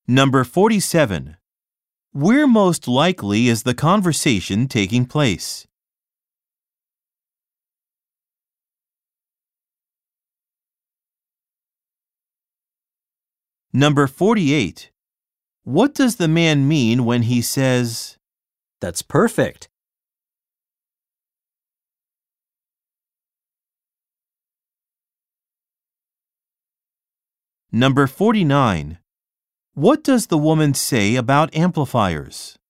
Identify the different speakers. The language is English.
Speaker 1: Number 47. Where most likely is the conversation taking place? Number 48. What does the man mean when he says,
Speaker 2: That's perfect.
Speaker 1: Number 49. What does the woman say about amplifiers?